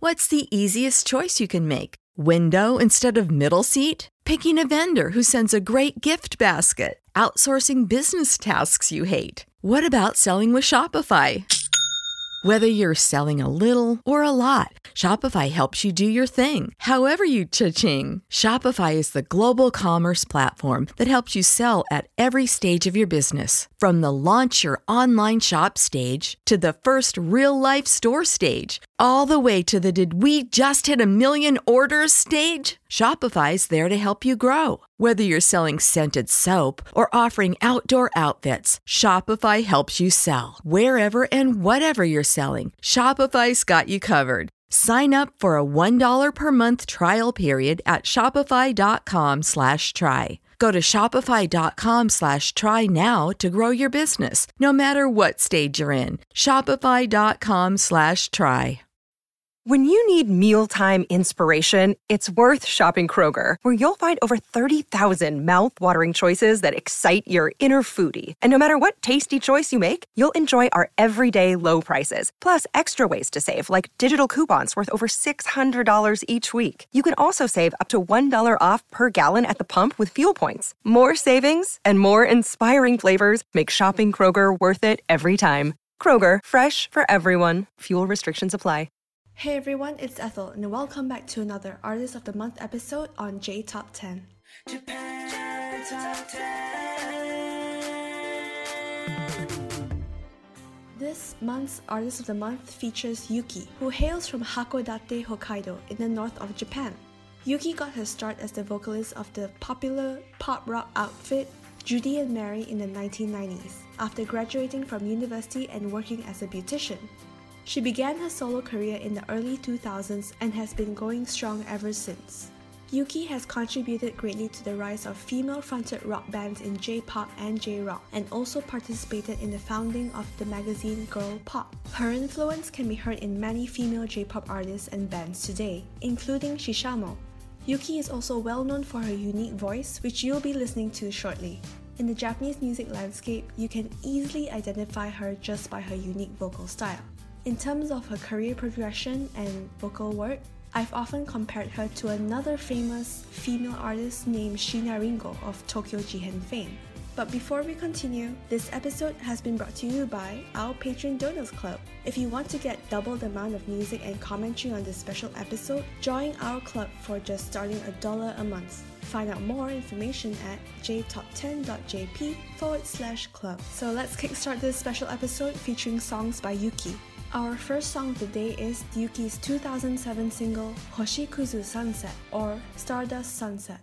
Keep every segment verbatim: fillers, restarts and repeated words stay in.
What's the easiest choice you can make? Window instead of middle seat? Picking a vendor who sends a great gift basket? Outsourcing business tasks you hate? What about selling with Shopify? Whether you're selling a little or a lot, Shopify helps you do your thing, however you cha-ching. Shopify is the global commerce platform that helps you sell at every stage of your business. From the launch your online shop stage to the first real-life store stage, all the way to the did we just hit a million orders stage. Shopify's there to help you grow. Whether you're selling scented soap or offering outdoor outfits, Shopify helps you sell. Wherever and whatever you're selling, Shopify's got you covered. Sign up for a one dollar per month trial period at shopify.com slash try. Go to shopify.com slash try now to grow your business, no matter what stage you're in. Shopify.com slash try. When you need mealtime inspiration, it's worth shopping Kroger, where you'll find over thirty thousand mouth-watering choices that excite your inner foodie. And no matter what tasty choice you make, you'll enjoy our everyday low prices, plus extra ways to save, like digital coupons worth over six hundred dollars each week. You can also save up to one dollar off per gallon at the pump with fuel points. More savings and more inspiring flavors make shopping Kroger worth it every time. Kroger, fresh for everyone. Fuel restrictions apply. Hey everyone, it's Ethel, and welcome back to another Artist of the Month episode on J Top ten. Japan Top ten. This month's Artist of the Month features Yuki, who hails from Hakodate, Hokkaido, in the north of Japan. Yuki got her start as the vocalist of the popular pop rock outfit Judy and Mary in the nineteen nineties, after graduating from university and working as a beautician. She began her solo career in the early two thousands and has been going strong ever since. Yuki has contributed greatly to the rise of female-fronted rock bands in J-pop and J-rock, and also participated in the founding of the magazine Girl Pop. Her influence can be heard in many female J-pop artists and bands today, including Shishamo. Yuki is also well known for her unique voice, which you'll be listening to shortly. In the Japanese music landscape, you can easily identify her just by her unique vocal style. In terms of her career progression and vocal work, I've often compared her to another famous female artist named Sheena Ringo of Tokyo Jihen fame. But before we continue, this episode has been brought to you by our Patreon Donors Club. If you want to get double the amount of music and commentary on this special episode, join our club for just starting a dollar a month. Find out more information at jtop10.jp forward slash club. So let's kickstart this special episode featuring songs by Yuki. Our first song of the day is Yuki's two thousand seven single Hoshikuzu Sunset, or Stardust Sunset.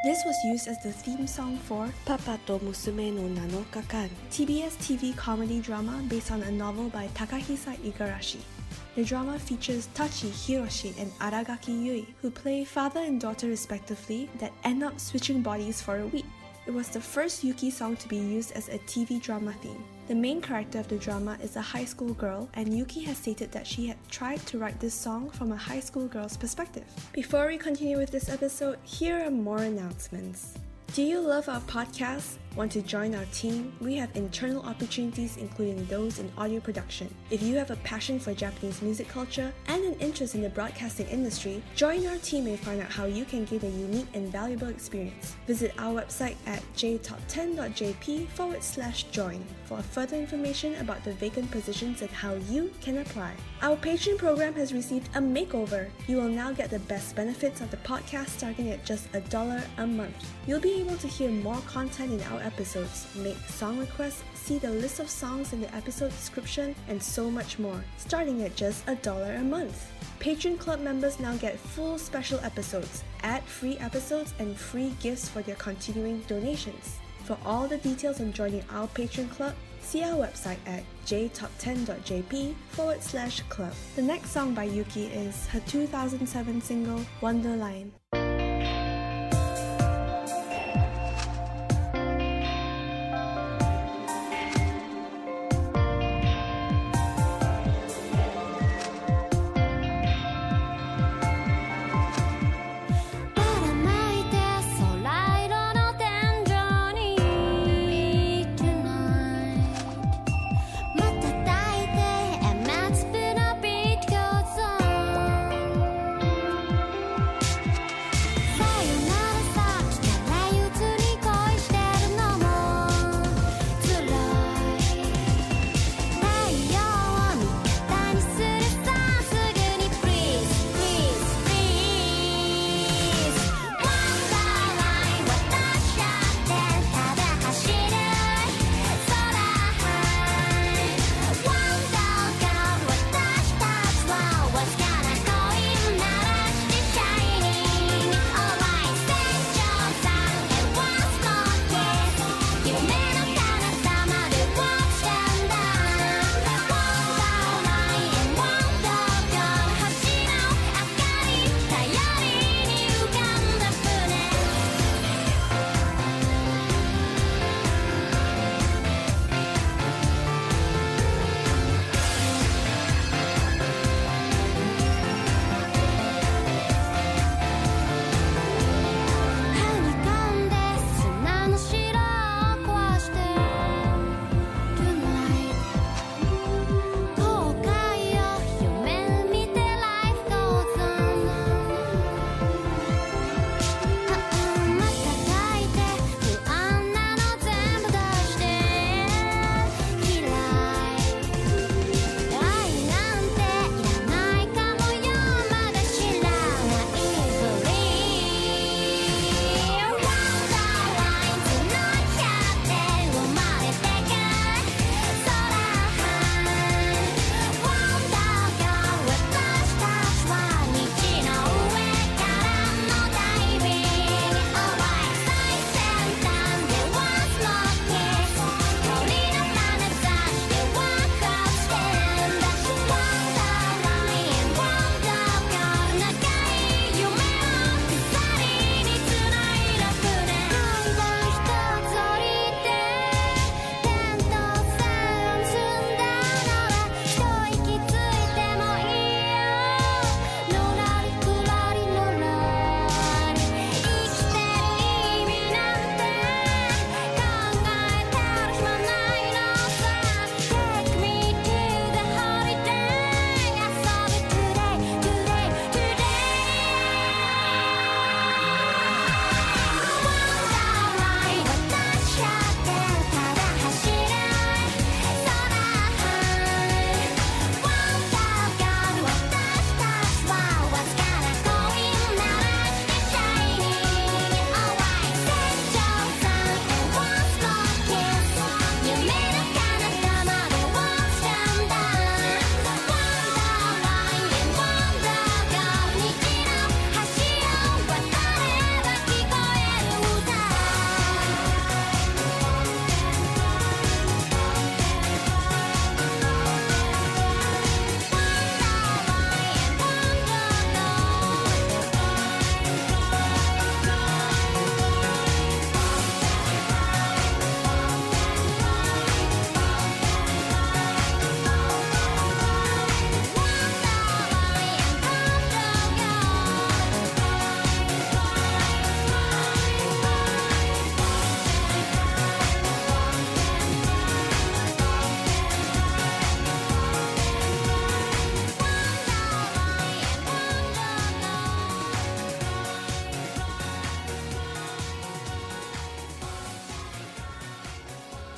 This was used as the theme song for Papa to Musume no Nanokakan, T B S T V comedy drama based on a novel by Takahisa Igarashi. The drama features Tachi Hiroshi and Aragaki Yui, who play father and daughter respectively that end up switching bodies for a week. It was the first Yuki song to be used as a T V drama theme. The main character of the drama is a high school girl, and Yuki has stated that she had tried to write this song from a high school girl's perspective. Before we continue with this episode, here are more announcements. Do you love our podcast? Want to join our team? We have internal opportunities including those in audio production. If you have a passion for Japanese music culture and an interest in the broadcasting industry, join our team and find out how you can gain a unique and valuable experience. Visit our website at j top ten dot j p forward slash join for further information about the vacant positions and how you can apply. Our Patreon program has received a makeover. You will now get the best benefits of the podcast starting at just a dollar a month. You'll be able to hear more content in our episodes, make song requests, see the list of songs in the episode description, and so much more, starting at just a dollar a month. Patreon Club members now get full special episodes, ad-free episodes, and free gifts for their continuing donations. For all the details on joining our Patreon Club, see our website at j top ten dot j p forward slash club. The next song by Yuki is her two thousand seven single, Wonderline. 「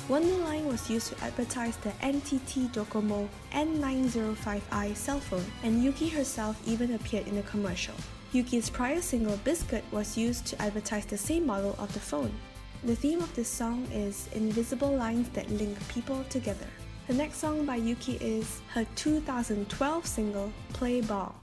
Wonderline was used to advertise the N T T Docomo N nine oh five i cell phone, and Yuki herself even appeared in the commercial. Yuki's prior single Biscuit was used to advertise the same model of the phone. The theme of this song is invisible lines that link people together. The next song by Yuki is her two thousand twelve single Play Ball.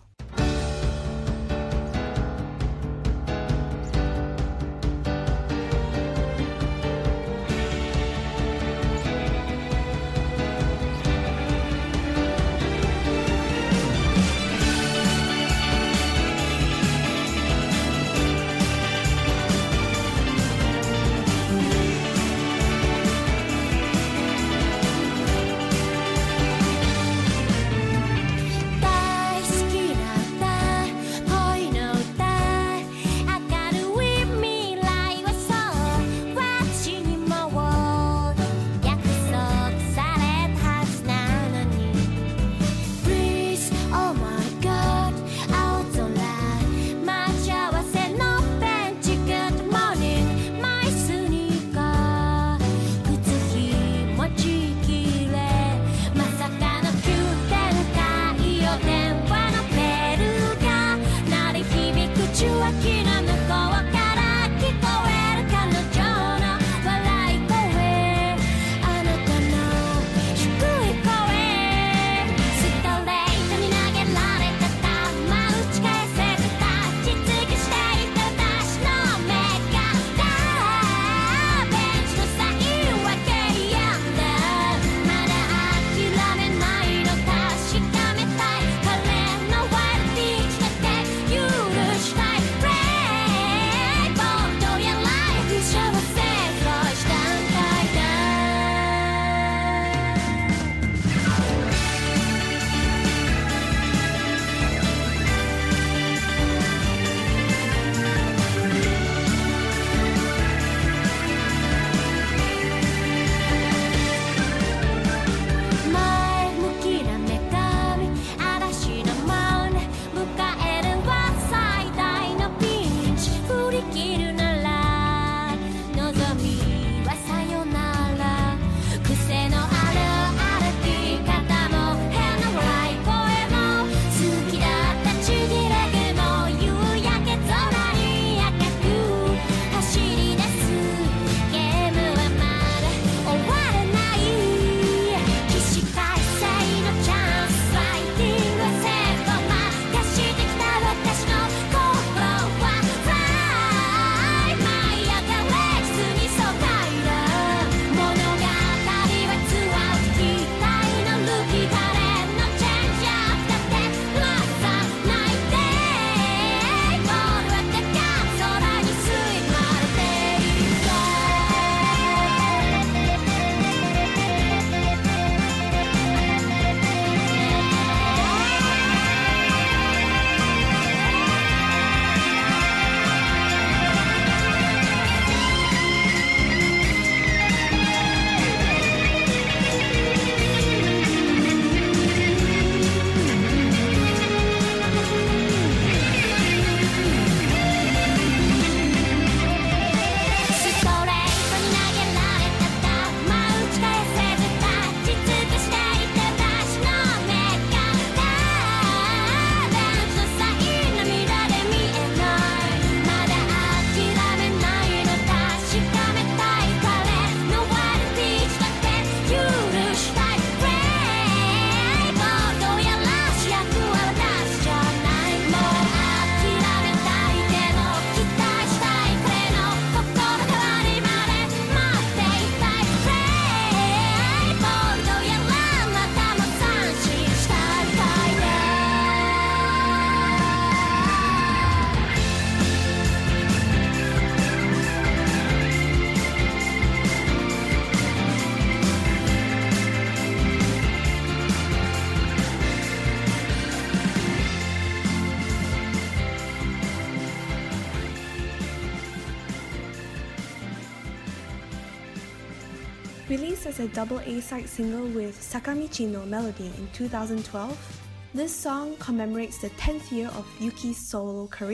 Released as a double A-side single with Sakamichi no Melody in two thousand twelve, this song commemorates the tenth year of Yuki's solo career.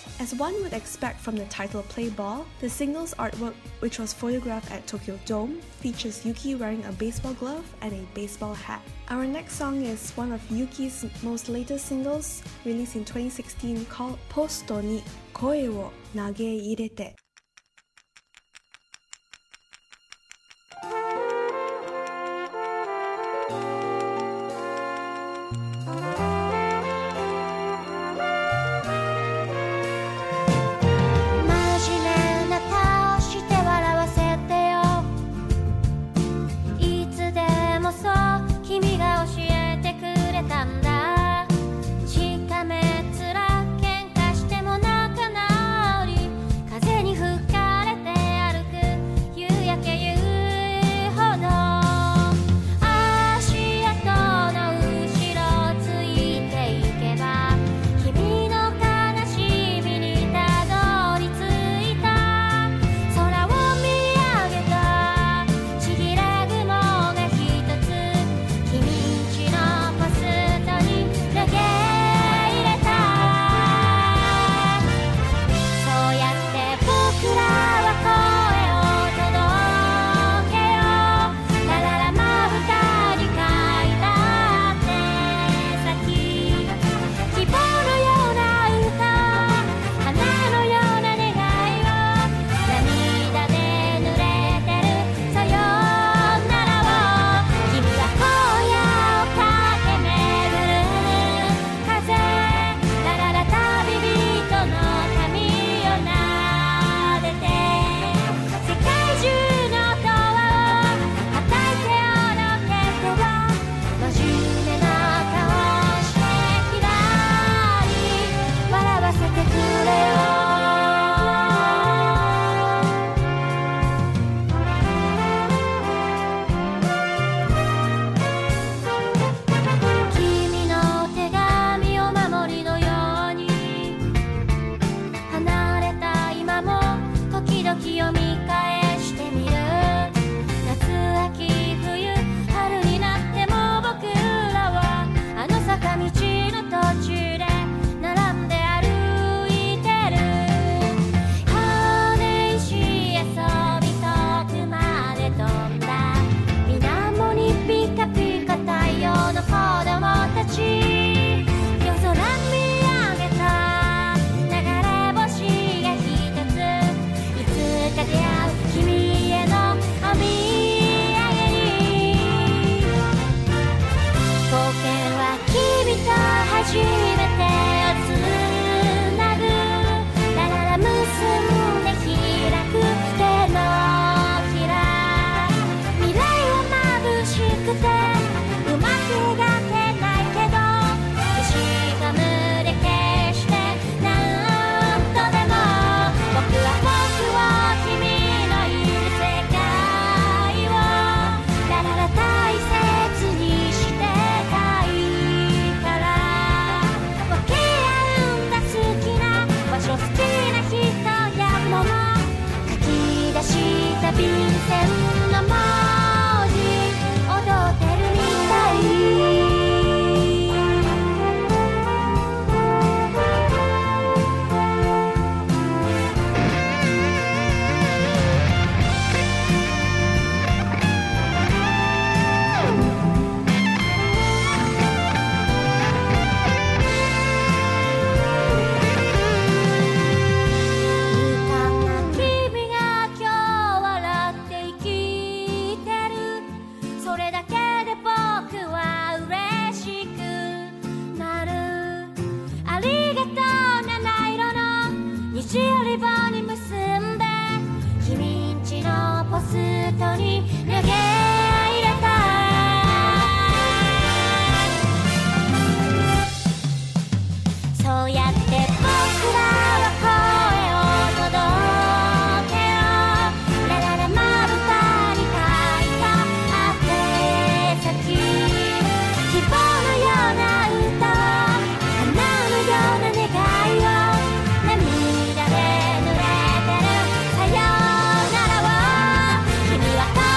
As one would expect from the title Play Ball, the singles artwork, which was photographed at Tokyo Dome, features Yuki wearing a baseball glove and a baseball hat. Our next song is one of Yuki's most latest singles, released in twenty sixteen, called Posto ni Koe wo Nageirete. 「君は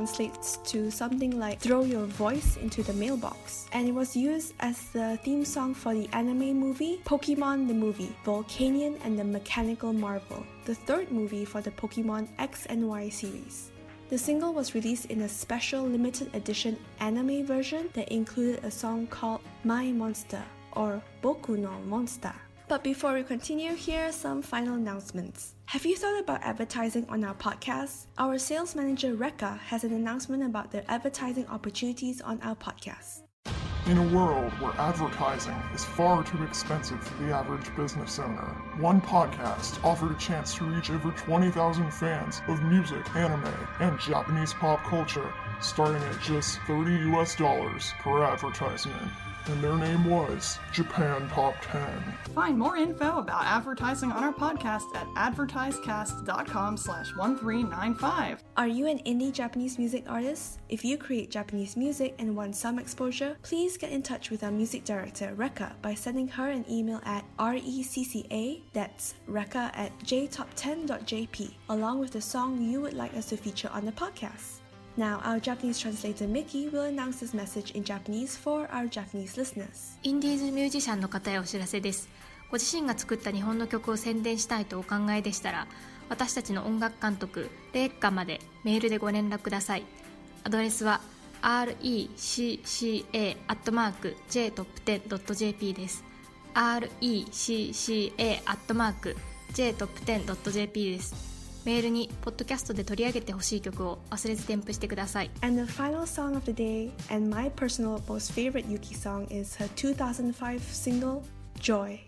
translates to something like throw your voice into the mailbox, and it was used as the theme song for the anime movie Pokemon the Movie, Volcanion and the Mechanical Marvel, the third movie for the Pokemon X and Y series. The single was released in a special limited edition anime version that included a song called My Monster or Boku no Monster. But before we continue, here are some final announcements. Have you thought about advertising on our podcast? Our sales manager Rekka has an announcement about the advertising opportunities on our podcast. In a world where advertising is far too expensive for the average business owner, one podcast offered a chance to reach over twenty thousand fans of music, anime, and Japanese pop culture, starting at just thirty U S dollars per advertisement. And their name was Japan Top ten. Find more info about advertising on our podcast at advertisecast.com slash 1395. Are you an indie Japanese music artist? If you create Japanese music and want some exposure, please get in touch with our music director, Rekka, by sending her an email at recca, that's Rekka at j top ten dot j p, along with the song you would like us to feature on the podcast. Now, our Japanese translator Mickey will announce this message in Japanese for our Japanese listeners. インディーズミュージシャンの方へお知らせです。ご自身が作った日本の曲を宣伝したいとお考えでしたら、私たちの音楽監督、レッカまでメールでご連絡ください。アドレスは アールイーシーシーエー アットマーク ジェイトップテン ドット ジェーピー です。アールイーシーシーエー アットマーク ジェイトップテン ドット ジェーピー です。メールにポッドキャストで取り上げてほしい曲を忘れず添付してください。 And the final song of the day, and my personal most favorite Yuki song, is her two thousand five single, Joy.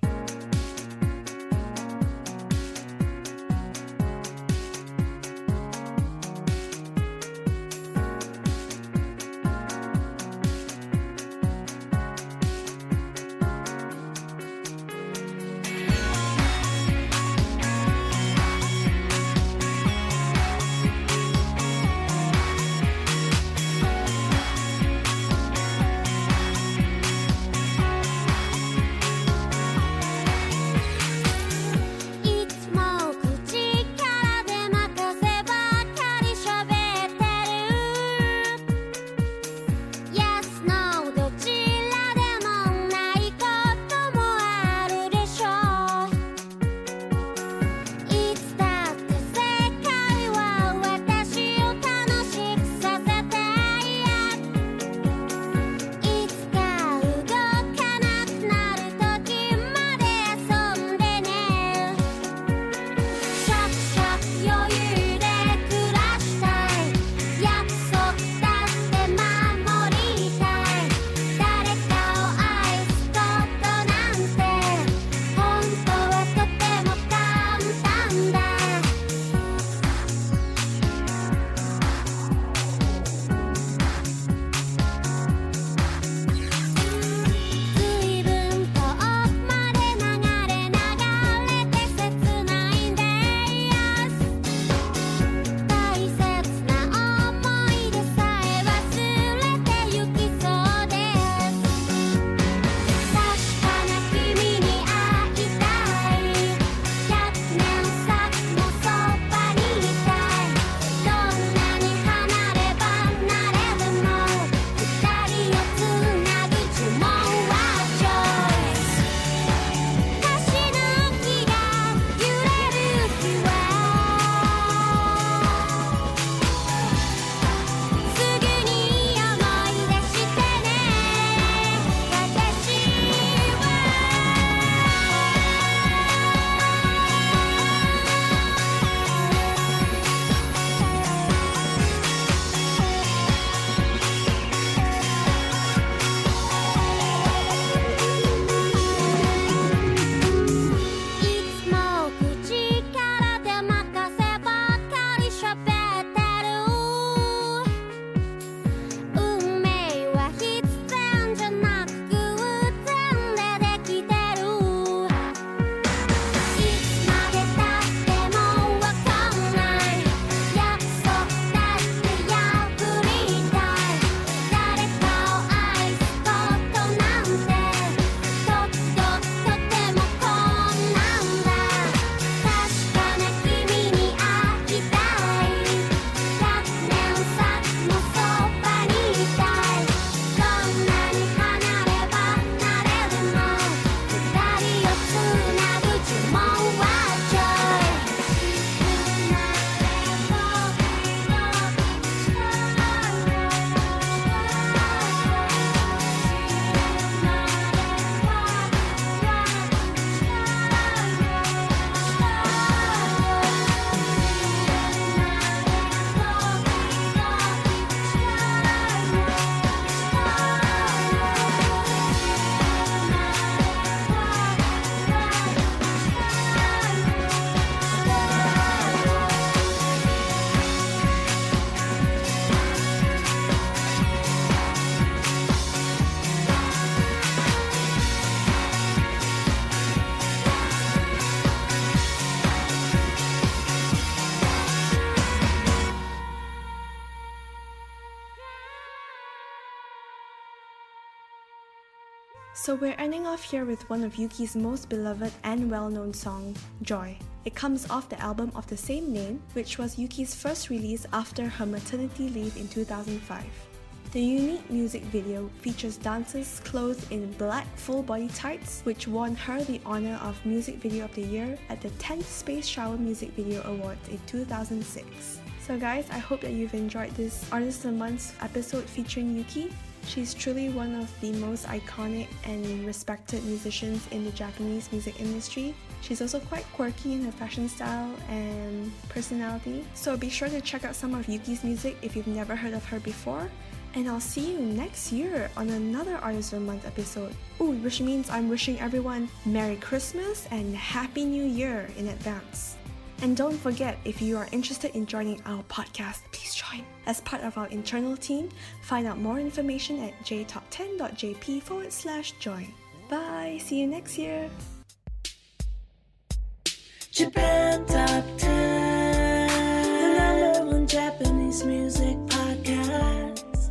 So we're ending off here with one of Yuki's most beloved and well-known song, Joy. It comes off the album of the same name, which was Yuki's first release after her maternity leave in two thousand five. The unique music video features dancers clothed in black full-body tights, which won her the honor of Music Video of the Year at the tenth Space Shower Music Video Awards in two thousand six. So guys, I hope that you've enjoyed this Artist of the Month episode featuring Yuki. She's truly one of the most iconic and respected musicians in the Japanese music industry. She's also quite quirky in her fashion style and personality. So be sure to check out some of Yuki's music if you've never heard of her before. And I'll see you next year on another Artist of the Month episode. Ooh, which means I'm wishing everyone Merry Christmas and Happy New Year in advance. And don't forget, if you are interested in joining our podcast, please join. As part of our internal team, find out more information at j top ten dot j p forward slash join. Bye! See you next year! Japan Top ten, the number one Japanese music podcast.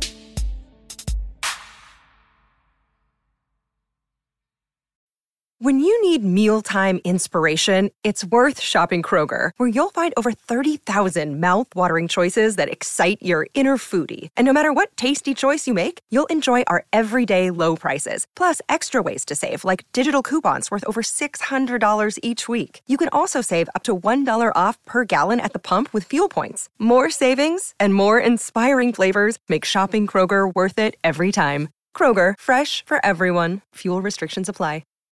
When you need mealtime inspiration, it's worth shopping Kroger, where you'll find over thirty thousand mouth-watering choices that excite your inner foodie. And no matter what tasty choice you make, you'll enjoy our everyday low prices, plus extra ways to save, like digital coupons worth over six hundred dollars each week. You can also save up to one dollar off per gallon at the pump with fuel points. More savings and more inspiring flavors make shopping Kroger worth it every time. Kroger, fresh for everyone. Fuel restrictions apply.